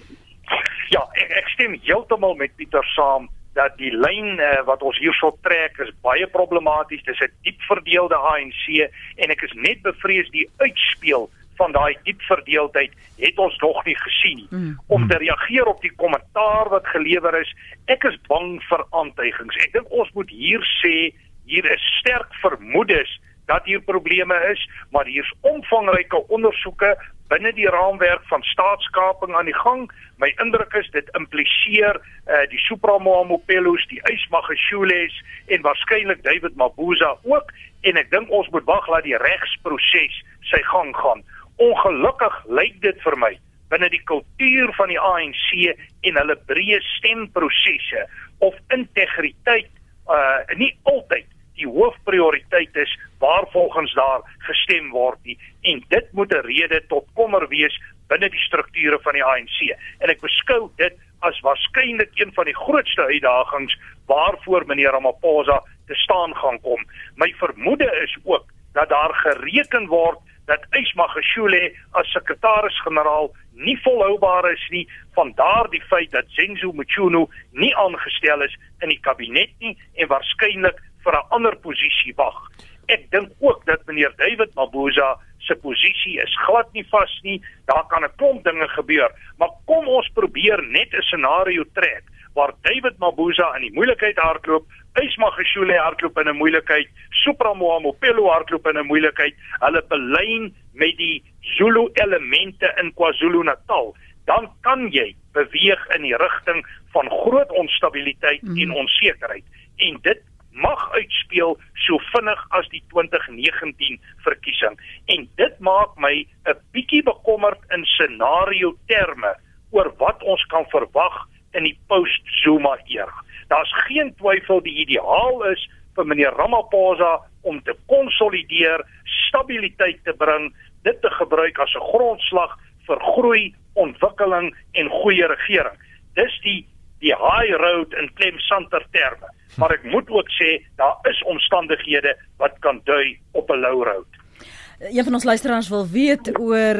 Ja, ek stem heeltemal met Pieter saam dat die lyn wat ons hierso trek is baie problematies. Dis 'n diep verdeelde ANC en ek is net bevrees die uitspeel van daai diep verdeeldheid het ons nog nie gesien nie. Om te reageer op die kommentaar wat gelewer is, ek is bang vir aantuigings. Ek dink ons moet hier sê, hier is sterk vermoedes dat hier probleme is, maar hier is omvangryke ondersoeke binne die raamwerk van staatskaping aan die gang. My indruk is dit impliseer die Supramoamopelos, die Ys Magashules en waarskynlik David Mabuza ook, en ek dink ons moet wag laat die regsproses sy gang gaan. Ongelukkig lyk dit vir my binne die kultuur van die ANC en hulle breë stemprosesse of integriteit nie altyd die hoofprioriteit is waar volgens daar gestem word nie, en dit moet 'n rede tot kommer wees binne die strukture van die ANC. En ek beskou dit as waarskynlik een van die grootste uitdagings waarvoor meneer Ramaphosa te staan gaan kom. My vermoede is ook dat daar gereken word dat Ys Magashule as sekretaris-generaal nie volhoubaar is nie, vandaar die feit dat Zenzo Mchunu nie aangestel is in die kabinet nie en waarskynlik vir 'n ander posisie wag. Ek dink ook dat meneer David Mabuza se posisie is glad nie vas nie, daar kan 'n klomp dinge gebeur, maar kom ons probeer net 'n scenario trek, waar David Mabuza in die moeilikheid hardloop, Ys Magashule hardloop in 'n moeilikheid, Supramoamopelo hardloop in 'n moeilikheid, hulle belyn met die Zulu elemente in KwaZulu-Natal, dan kan jy beweeg in die rigting van groot onstabiliteit en onsekerheid, en dit mag uitspeel so vinnig as die 2019 verkiesing. En dit maak my 'n bietjie bekommerd in scenario terme oor wat ons kan verwag in die post-Zuma era. Daar's geen twyfel die ideaal is vir meneer Ramaphosa om te konsolideer, stabiliteit te bring, dit te gebruik as 'n grondslag vir groei, ontwikkeling en goeie regering. Dis die high road in Clem Santer terme. Maar ek moet ook sê, daar is omstandighede wat kan dui op 'n low road. Een van ons luisteraars wil weet oor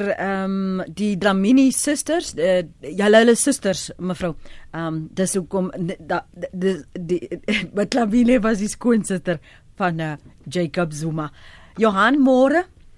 die Dlamini sisters, julle susters, mevrou. Dis hoekom Dlamini was die skoonsister van Jacob Zuma. Johan, môre?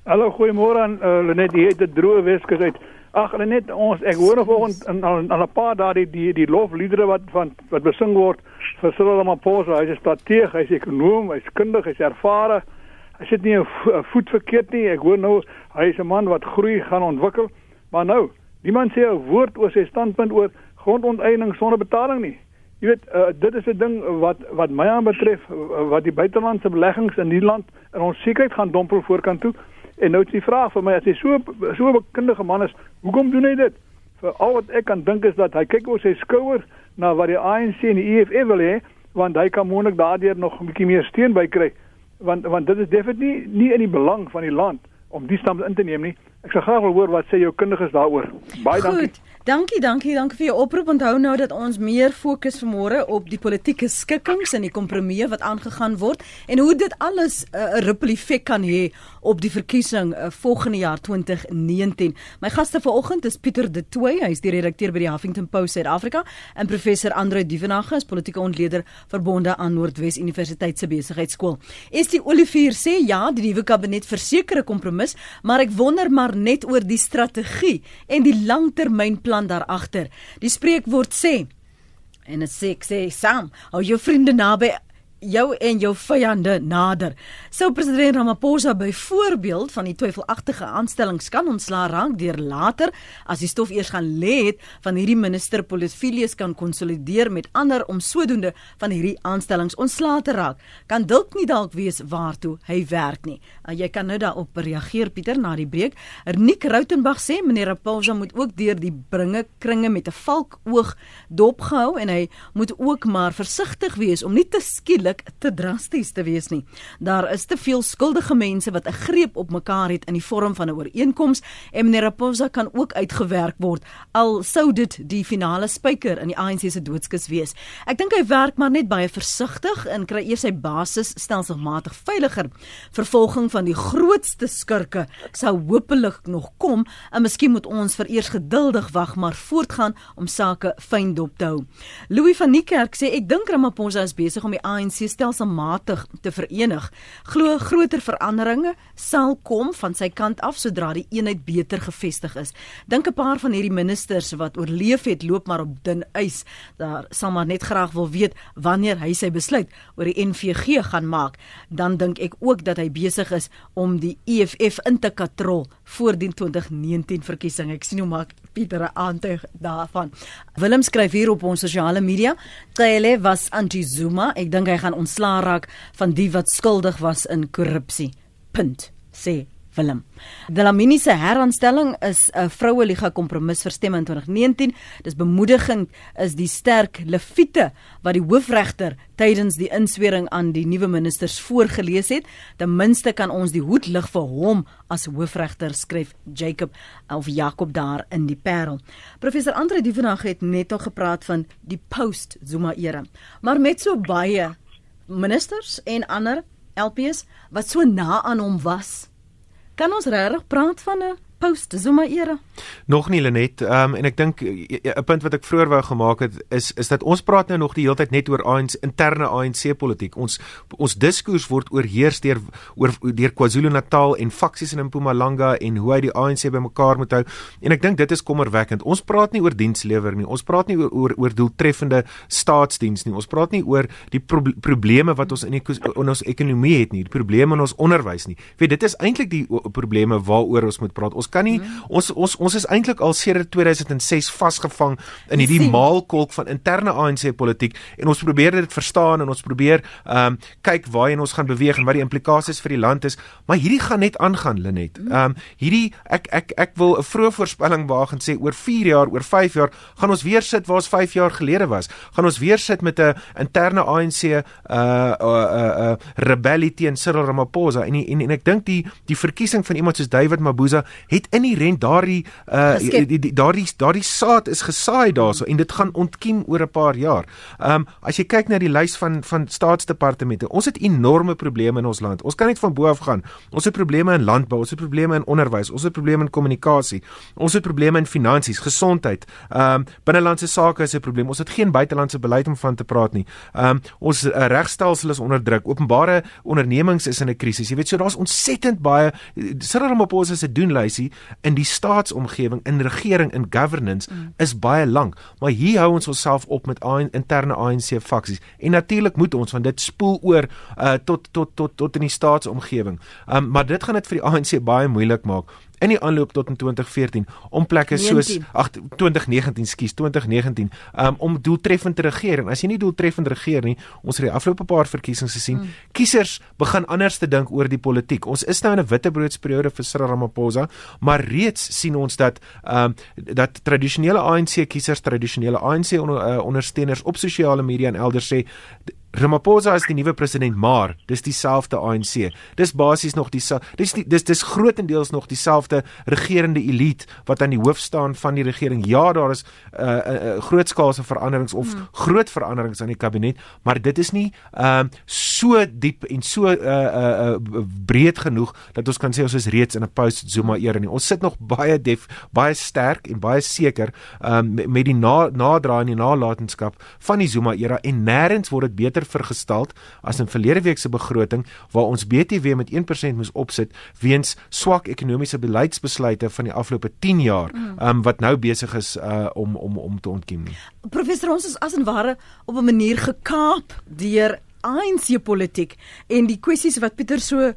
Hallo, goeiemôre aan Lenet, die het 'n droë Weskus uit. Ag Lenet, ek hoor vanoggend al 'n paar dae die lofliedere wat besing word vir Cyril Ramaphosa. Hy's 'n strateeg, hy's ekonom, hy's kundig, hy's ervare. Hy sit nie 'n voet verkeerd nie. Ek hoor nou hy is 'n man wat groei gaan ontwikkel. Maar nou, niemand sê 'n woord oor sy standpunt oor grondonteiening sonder betaling nie. Jy weet, dit is 'n ding wat my aanbetref, wat die buitelandse beleggings in die land in onsekerheid gaan dompel voorkant toe. En nou is die vraag vir my, as hy so 'n bekundige man is, hoekom doen hy dit? Vir al wat ek kan dink is dat hy kyk oor sy skouer na wat die ANC en die EFF wil hê, want hy kan moontlik daardeur nog 'n bietjie meer steun bykry. Want dit is definitief nie in die belang van die land om die stand in te neem nie. Ek sal graag wil hoor wat sê jou kundiges daaroor. Baie dankie. Dankie vir jou oproep. Onthou nou dat ons meer fokus vanmôre op die politieke skikkings en die kompromieë wat aangegaan word en hoe dit alles 'n ripple effek kan hê op die verkiesing volgende jaar 2019. My gaste vanoggend is Pieter de Tooy, hy is die redakteur by die Huffington Post Suid-Afrika, en professor Andre Duvenage is politieke ontleder verbonde aan Noordwes Universiteit se besigheidskool. Estie Olivier sê ja, die nuwe kabinet verseker 'n kompromis, maar ek wonder maar net oor die strategie en die langtermynplan daarachter. Die spreekwoord sê, en dit sê, ek sê saam, hou jou vriende naby jou en jou vyande nader. Sou president Ramaphosa byvoorbeeld van die twyfelagtige aanstellings kan ontslaa raak deur later, as die stof eers gaan lê het, van hierdie minister Polyphilius kan konsolideer met ander om sodoende van hierdie aanstellings ontslaa te raak, kan dalk nie dalk wees waartoe hy werk nie. Jy kan nou daarop reageer, Pieter, na die breek. Nick Rautenbach sê, meneer Ramaphosa moet ook deur die kringe met 'n valkoog dopgehou en hy moet ook maar versigtig wees om nie te skielik te drasties te wees nie. Daar is te veel skuldige mense wat 'n greep op mekaar het in die vorm van 'n ooreenkoms en meneer Ramaphosa kan ook uitgewerk word, al sou dit die finale spyker in die ANC se doodskus wees. Ek dink hy werk maar net baie versigtig en kry eers sy basis stelselmatig veiliger. Vervolging van die grootste skurke sou hopelik nog kom en miskien moet ons vereers geduldig wag, maar voortgaan om sake fyn dop te hou. Louis van Niekerk sê, ek dink Ramaphosa is besig om die ANC stelselmatig te verenig. Glo groter veranderinge sal kom van sy kant af sodra die eenheid beter gevestig is. Dink 'n paar van hierdie ministers wat oorleef het, loop maar op dun ys. Daar sal maar net graag wil weet wanneer hy sy besluit oor die NVG gaan maak. Dan dink ek ook dat hy besig is om die EFF in te katrol voor die 2019 verkiesing. Ek sien hoe maak Pieter 'n aantuig daarvan. Willem skryf hier op ons sosiale media, Cele was anti-Zuma. Ek dink hy gaan ontslaa raak van die wat skuldig was in korrupsie. Punt, sê Willem. Dlamini se heraanstelling is 'n Vroueliga kompromis vir stemme in 2019. Dis bemoedigend is die sterk leviete wat die hoofregter tydens die inswering aan die nuwe ministers voorgelees het. Ten minste kan ons die hoed lig vir hom as hoofregter, skryf Jacob daar in die Parel. Professor Andre Duvenage het net al gepraat van die post-Zuma era, maar met so baie ministers en ander LPs wat so na aan hom was, kan ons regtig praat van 'n post-Zuma era? Nog nie, Lenet, en ek dink 'n punt wat ek vroeër wou gemaak het is dat ons praat nou nog die hele tyd net oor interne ANC-politiek. Ons diskurs word oorheers deur KwaZulu-Natal en faksies in Mpumalanga en hoe hy die ANC bymekaar moet hou. En ek dink dit is kommerwekkend. Ons praat nie oor dienslewer nie. Ons praat nie oor doeltreffende staatsdiens nie. Ons praat nie oor die probleme wat ons in ons ekonomie het nie, die probleme in ons onderwys nie. Weet, dit is eintlik die probleme waaroor ons moet praat. Ons kan nie, ons is eintlik al sedert 2006 vasgevang in hierdie maalkolk van interne ANC-politiek en ons probeer dit verstaan en ons probeer kyk waarheen ons gaan beweeg en wat die implikasies vir die land is, maar hierdie gaan net aangaan, Lenet. Ek wil 'n vroeë voorspelling waag en sê oor 4 jaar, oor 5 jaar gaan ons weer sit waar ons 5 jaar gelede was. Gaan ons weer sit met 'n interne ANC rebellie teen Cyril Ramaphosa en ek dink die verkiesing van iemand soos David Mabuza het inherent daardie saad is gesaai daarso en dit gaan ontkiem oor 'n paar jaar. As jy kyk na die lys van staatsdepartemente, ons het enorme probleme in ons land. Ons kan net van bo af gaan. Ons het probleme in landbou, ons het probleme in onderwys, ons het probleme in kommunikasie, ons het probleme in finansies, gesondheid, binnelandse sake is 'n probleem. Ons het geen buitelandse beleid om van te praat nie. Ons regstelsel is onder druk. Openbare ondernemings is in 'n krisis. Jy weet, so daar's ontsettend baie. Cyril Ramaphosa se doenlysie in die staatsomgewing, in regering, in governance is baie lank. Maar hier hou ons onsself op met interne ANC faksies. En natuurlik moet ons, want dit spoel oor tot in die staatsomgewing. Maar dit gaan dit vir die ANC baie moeilik maak in die aanloop tot in 2014 om plekke soos 2019 om doeltreffend te regeer. En as jy nie doeltreffend regeer nie, ons het die afgelope paar verkiesings gesien, kiesers begin anders te dink oor die politiek. Ons is nou in 'n wittebroodsperiode vir Cyril Ramaphosa, maar reeds sien ons dat tradisionele ANC kiesers, tradisionele ANC ondersteuners op sosiale media en elders sê Ramaphosa is die nuwe president, maar dis dieselfde ANC. Dis basies nog dis grootendeels nog dieselfde regerende elite wat aan die hoof staan van die regering. Ja, daar is grootskaalse veranderings of groot veranderings aan die kabinet, maar dit is nie so diep en so breed genoeg dat ons kan sê ons is reeds in 'n post-Zuma era nie. Ons sit nog baie sterk en baie seker met die nadraai en die nalatenskap van die Zuma era en nêrens word dit beter vergesteld as in verlede week se begroting waar ons BTW met 1% moes opsit weens swak ekonomiese beleidsbesluite van die afgelope 10 jaar wat nou besig is om te ontkiem nie. Professor, ons is as en ware op 'n manier gekaap deur ANC-politiek en die kwessies wat Pieter so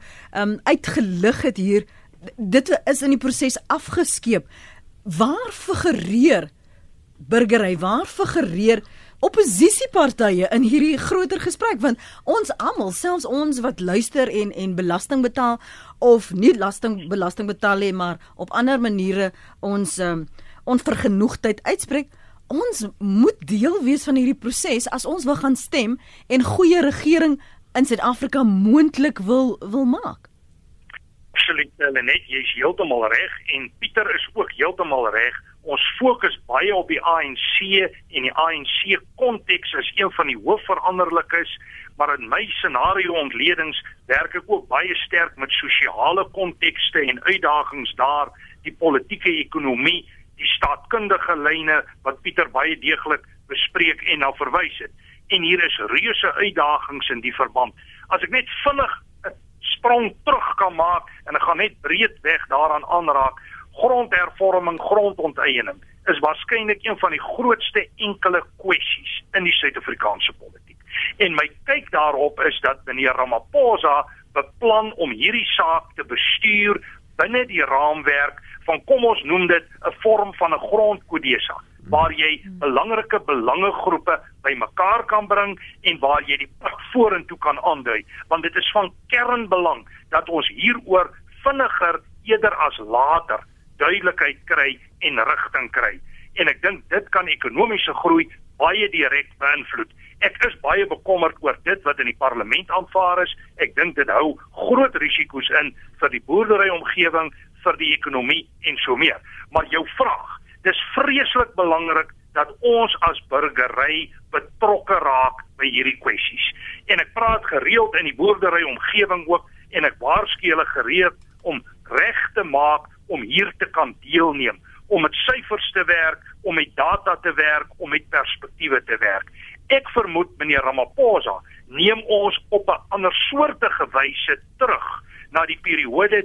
uitgelig het hier, dit is in die proses afgeskeep. Waar figureer burgery, waar figureer oppositiepartye in hierdie groter gesprek, want ons almal, selfs ons wat luister en belasting betaal of nie belasting betaal nie, maar op ander maniere ons onvergenoegdheid uitspreek, ons moet deel wees van hierdie proses as ons wil gaan stem en goeie regering in Suid-Afrika moontlik wil maak. Absoluut, Lenet, jy is heeltemal reg en Pieter is ook heeltemal reg. Ons fokus baie op die ANC en die ANC-konteks is een van die hoofveranderlikes, maar in my scenario-ontledings werk ek ook baie sterk met sosiale kontekste en uitdagings daar, die politieke ekonomie, die staatkundige lyne wat Pieter baie deeglik bespreek en na verwys het. En hier is reuse uitdagings in die verband. As ek net vinnig 'n sprong terug kan maak en ek gaan net breedweg daaraan aanraak, grondhervorming, grondonteiening is waarskynlik een van die grootste enkele kwessies in die Suid-Afrikaanse politiek. En my kyk daarop is dat meneer Ramaphosa beplan om hierdie saak te bestuur binne die raamwerk van, kom ons noem dit, 'n vorm van 'n grondkodesa, waar jy belangrike belangegroepe bymekaar kan bring en waar jy die pad vorentoe kan aandui, want dit is van kernbelang dat ons hieroor vinniger eerder as later duidelikheid kry en rigting kry. En ek dink dit kan ekonomiese groei baie direk beïnvloed. Ek is baie bekommerd oor dit wat in die parlement aanvaar is. Ek dink dit hou groot risiko's in vir die boerderyomgewing, vir die ekonomie en so meer. Maar jou vraag, dis vreeslik belangrik dat ons as burgery betrokke raak by hierdie kwessies. En ek praat gereeld in die boerderyomgewing ook en ek waarsku hulle gereed om reg te maak om hier te kan deelneem, om met syfers te werk, om met data te werk, om met perspektiewe te werk. Ek vermoed meneer Ramaphosa neem ons op 'n andersoortige wyse terug na die periode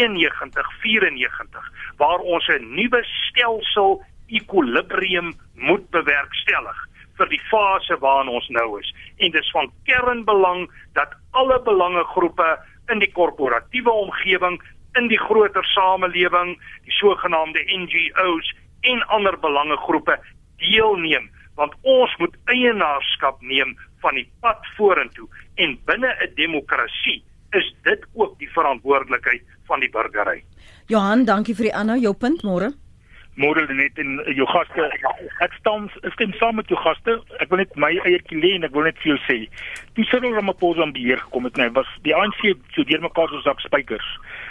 93-94 waar ons 'n nuwe stelsel equilibrium moet bewerkstellig vir die fase waarin ons nou is. En dis van kernbelang dat alle belangegroepe in die korporatiewe omgewing, in die groter samelewing, die sogenaamde NGO's en ander belangegroepe deelneem, want ons moet eienaarskap neem van die pad vorentoe en binne 'n demokrasie is dit ook die verantwoordelikheid van die burgery. Johan, dankie vir die aanhou, jou punt môre. Môre net in jou gaste. Ek stem saam met jou gaste. Ek wil net my eie lê en ek wil net veel sê. Toe Cyril Ramaphosa aan beheer gekom het, was die ANC so deurmekaar soos sak spykers.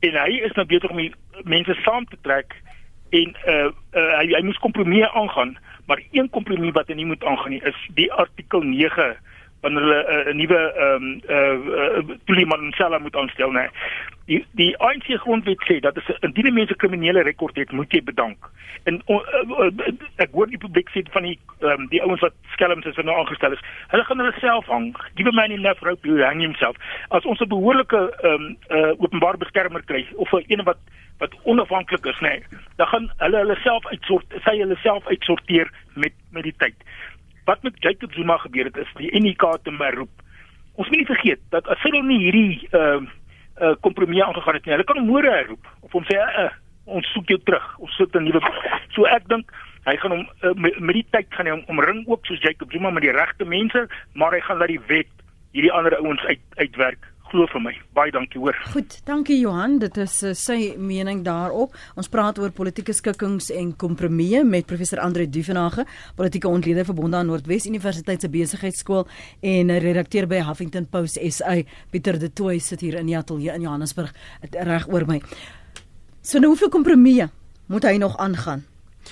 En hy is nou besig om die mense saam te trek en hy moes kompromie aangaan, maar een kompromie wat hy nie moet aangaan nie, is die artikel 9 wanneer hulle 'n nuwe Tulimansela moet aanstel, nee. Die ANC grondwet sê dat indien 'n mens 'n kriminele rekord het, moet jy bedank. En ek hoor die publiek sê van die ouens wat skelms is wat nou aangestel is, hulle gaan hulle self hang. Give a man enough rope, he hang himself. As ons 'n behoorlike openbare beskermer kry, of 'n wat onafhanklik is, nee, dan gaan hulle self uitsorteer met die tyd. Wat met Jacob Zuma gebeur het, is die NEK te roep. Ons moet nie vergeet dat as hulle nie hierdie kompromie aangegaan het nie, hulle kan hom môre herroep of hom sê ons soek jou terug, ons soek 'n nuwe. So ek dink hy gaan hom met die tyd gaan hy hom omring ook soos Jacob Zuma met die regte mense, maar hy gaan laat die wet hierdie ander ouens uitwerk. Glo vir my. Baie dankie hoor. Goed, dankie Johan. Dit is sy mening daarop. Ons praat oor politieke skikkings en kompromieë met professor Andre Duvenage, politieke ontleder verbonde aan Noordwes Universiteit se Besigheidsskool en redakteur by Huffington Post SA. Pieter de Tooy sit hier in die ateljee in Johannesburg reg oor my. So nou hoeveel kompromieë moet hy nog aangaan?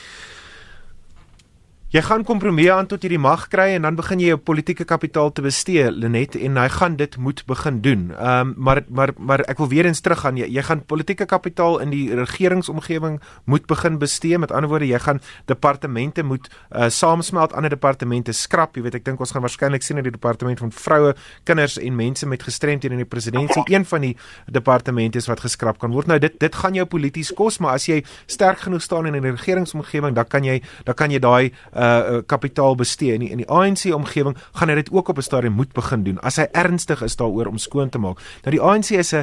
Jy gaan kompromieë aan tot jy die mag kry en dan begin jy jou politieke kapitaal te bestee, Lenet, en hy gaan dit moet begin doen. Maar ek wil weer eens teruggaan. Jy gaan politieke kapitaal in die regeringsomgewing moet begin bestee. Met ander woorde, jy gaan departemente moet saamsmelt, ander departemente skrap. Jy weet, ek dink ons gaan waarskynlik sien in die departement van vroue, kinders en mense met gestremdhede in die presidentskap, een van die departemente is wat geskrap kan word. Nou dit gaan jou polities kos, maar as jy sterk genoeg staan in 'n regeringsomgewing, dan kan jy daai kapitaal bestee. In die ANC-omgewing gaan hy dit ook op 'n stadium moet begin doen, as hy ernstig is daaroor om skoon te maak. Nou die ANC is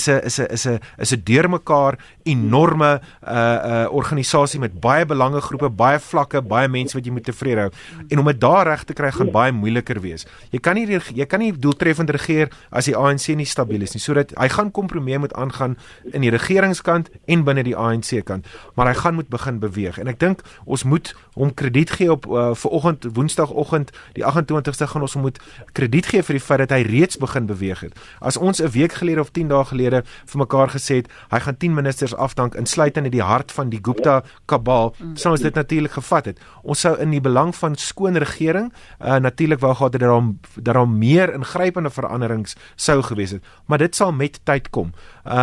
'n deurmekaar enorme organisasie met baie belangegroepe, baie vlakke, baie mense wat jy moet tevrede hou. En om dit daar reg te kry gaan baie moeiliker wees. Jy kan nie doeltreffend regeer as die ANC nie stabiel is nie. Sodat hy gaan kompromie moet aangaan in die regeringskant en binne die ANC kant, maar hy gaan moet begin beweeg. En ek dink ons moet hom krediet gee op vanoggend, woensdagoggend, die 28ste gaan ons moet krediet gee vir die feit dat hy reeds begin beweeg het. As ons 'n week gelede of 10 dae gelede vir mekaar gesê het, hy gaan 10 ministers afdank, insluitend in die hart van die Gupta kabal, sou ons dit natuurlik gevat het. Ons sou in die belang van skoon regering natuurlik wou gehad het dat daar meer ingrypende veranderings sou gewees het, maar dit sal met tyd kom.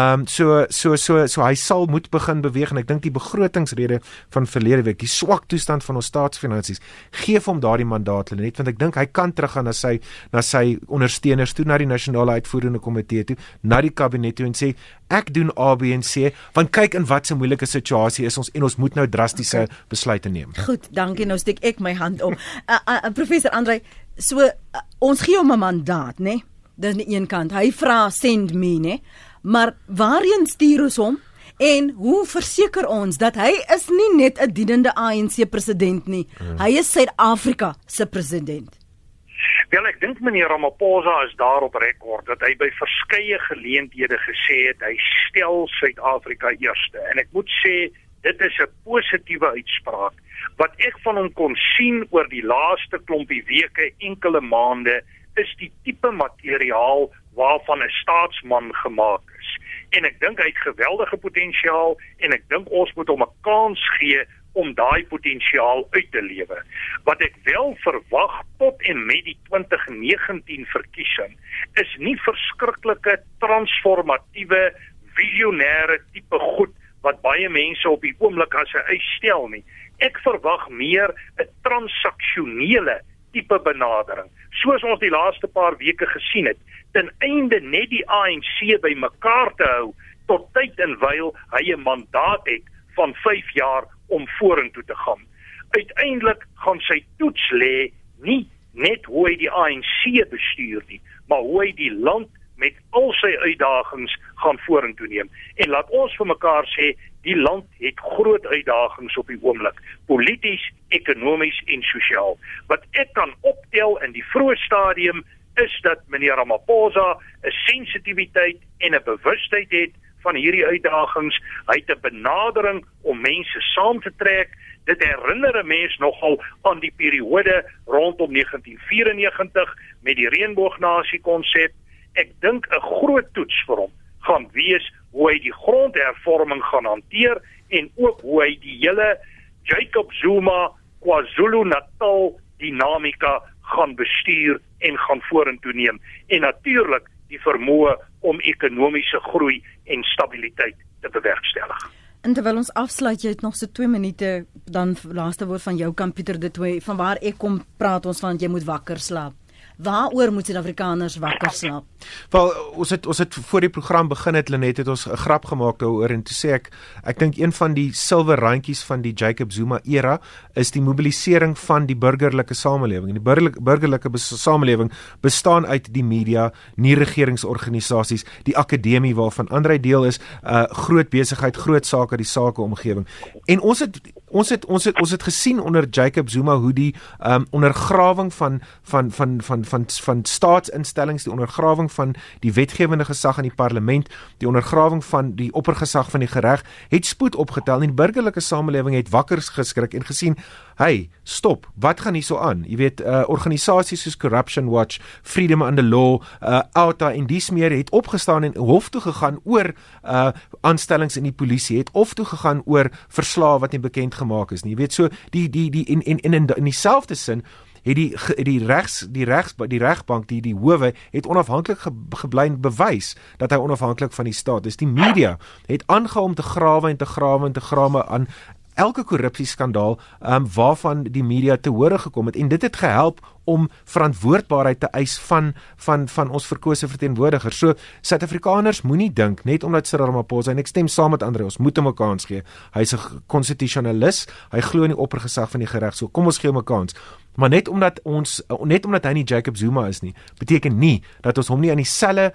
So hy sal moet begin beweeg, en ek dink die begrotingsrede van verlede week, die swak toestand van ons staatsfinansies, geef hom daardie mandaat, Lenet, want ek dink hy kan teruggaan na sy ondersteuners toe, na die nasionale uitvoerende komitee toe, na die kabinet toe en sê, ek doen A, B en C, want kyk in wat 'n moeilike situasie is ons en ons moet nou drastiese besluite neem. Goed, dankie. Nou steek ek my hand op. Professor Andre, so ons gee hom 'n mandaat, né? Dis aan die een kant. Hy vra send me, né? Maar waarheen stuur ons hom? En hoe verseker ons dat hy is nie net 'n dienende ANC president nie. Hy is Suid-Afrika se president. Wel, ek dink meneer Ramaphosa is daar op rekord dat hy by verskeie geleenthede gesê het hy stel Suid-Afrika eerste. En ek moet sê dit is 'n positiewe uitspraak. Wat ek van hom kon sien oor die laaste klompie weke, enkele maande, is die tipe materiaal waarvan 'n staatsman gemaak is. En ek dink hy het geweldige potensiaal en ek dink ons moet hom 'n kans gee om daai potensiaal uit te lewe. Wat ek wel verwag tot en met die 2019 verkiesing is nie verskriklike transformatiewe, visionêre tipe goed wat baie mense op die oomblik as 'n eis stel nie. Ek verwag meer 'n transaksionele tipe benadering, soos ons die laaste paar weke gesien het, ten einde net die ANC by mekaar te hou, tot tyd en wyl hy 'n mandaat het van 5 jaar om vorentoe te gaan. Uiteindelik gaan sy toets lê nie net hoe hy die ANC bestuur nie, maar hoe hy die land met al sy uitdagings gaan vorentoe neem. En laat ons vir mekaar sê, die land het groot uitdagings op die oomblik, polities, ekonomies en sosiaal. Wat ek kan optel in die vroeë stadium is dat meneer Ramaphosa 'n sensitiwiteit en 'n bewustheid het van hierdie uitdagings. Hy het 'n benadering om mense saam te trek. Dit herinner 'n mens nogal aan die periode rondom 1994 met die reënboognasie konsep. Ek dink 'n groot toets vir hom gaan wees hoe hy die grondhervorming gaan hanteer en ook hoe hy die hele Jacob Zuma KwaZulu-Natal dinamika gaan bestuur en gaan vorentoe neem. En natuurlik die vermoë om ekonomiese groei en stabiliteit te bewerkstellig. En terwyl ons afsluit, jy het nog so 2 minute, dan laaste woord van jou kant, Pieter de Tooy, van waar ek kom praat ons van jy moet wakker slaap. Waaroor moet Suid-Afrikaners wakker slaap? Wel, ons het voor die program begin het, Lenet, het ons 'n grap gemaak daaroor en toe sê ek dink een van die silwer randjies van die Jacob Zuma era is die mobilisering van die burgerlike samelewing. En die burgerlike samelewing bestaan uit die media, nie-regeringsorganisasies, die akademie waarvan Andrei deel is, groot besigheid, groot sake, die sakeomgewing. En ons het gesien onder Jacob Zuma hoe die ondergrawing van staatsinstellings, die ondergrawing van die wetgewende gesag in die parlement, die ondergrawing van die oppergesag van die gereg, het spoed opgetel en die burgerlike samelewing het wakker geskrik en gesien, hey, stop, wat gaan hier so aan? Jy weet, organisasies soos Corruption Watch, Freedom Under Law, OUTA en dies meer het opgestaan en hof toe gegaan oor aanstellings in die polisie, het hof toe gegaan oor verslae wat nie bekend gemaak is nie. Jy weet, so in dieselfde sin het die regbank, die howe het onafhanklik gebly bewys dat hy onafhanklik van die staat is. Die media het aangehou om te grawe aan elke korrupsieskandaal waarvan die media te hore gekom het en dit het gehelp om verantwoordbaarheid te eis van ons verkose verteenwoordigers. So Suid-Afrikaners moenie dink net omdat Cyril Ramaphosa, en ek stem saam met André, ons moet hom 'n kans gee. Hy's 'n konstitusionalis, hy glo in die oppergesag van die gereg. So kom ons gee hom 'n kans. Maar net omdat hy nie Jacob Zuma is nie, beteken nie dat ons hom nie aan dieselfde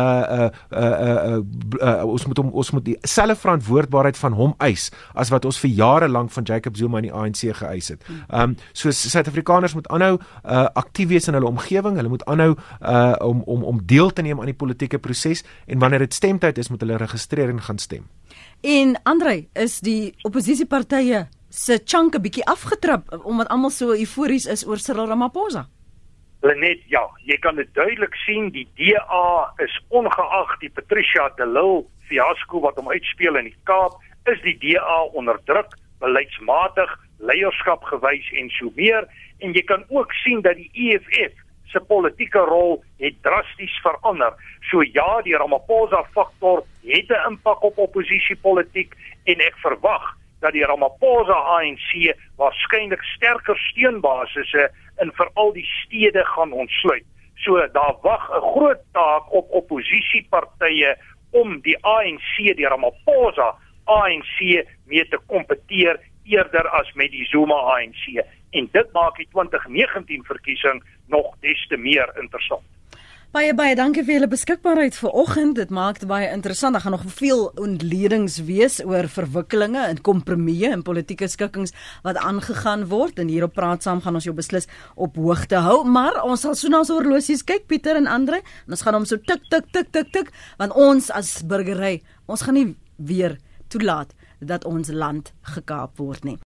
ons moet dieselfde verantwoordbaarheid van hom eis as wat ons vir jare lank van Jacob Zuma in die ANC geëis het. So Suid-Afrikaners moet aanhou aktief wees in hulle omgewing, hulle moet aanhou om deel te neem aan die politieke proses en wanneer dit stemtyd is, moet hulle registreer en gaan stem. En Andrei, is die oppositiepartye se chunk 'n bietjie afgetrap omdat almal so eufories is oor Cyril Ramaphosa? Lenet, ja, jy kan dit duidelik sien, die DA is ongeag die Patricia de Lille fiasco wat hom uitspeel in die Kaap, is die DA onder druk, beleidsmatig, leierskap gewys en so meer, en jy kan ook sien dat die EFF se politieke rol het drasties verander. So ja, die Ramaphosa faktor het 'n impak op oppositiepolitiek en ek verwag dat die Ramaphosa ANC waarskynlik sterker steunbasisse in veral die stede gaan ontsluit. So daar wag 'n groot taak op oppositiepartye om die ANC, die Ramaphosa ANC mee te kompeteer eerder as met die Zuma ANC. En dit maak die 2019 verkiesing nog des te meer interessant. Baie dankie vir julle beskikbaarheid vanoggend. Dit maak dit baie interessant. Daar gaan nog veel ontledings wees oor verwikkelinge en kompromieë en politieke skikkings wat aangegaan word. En hier op Praat Saam gaan ons jou beslis op hoogte hou. Maar ons sal so na ons horlosies kyk, Pieter en André. En ons gaan hom so tik, want ons as burgery, ons gaan nie weer toelaat dat ons land gekaap word nie.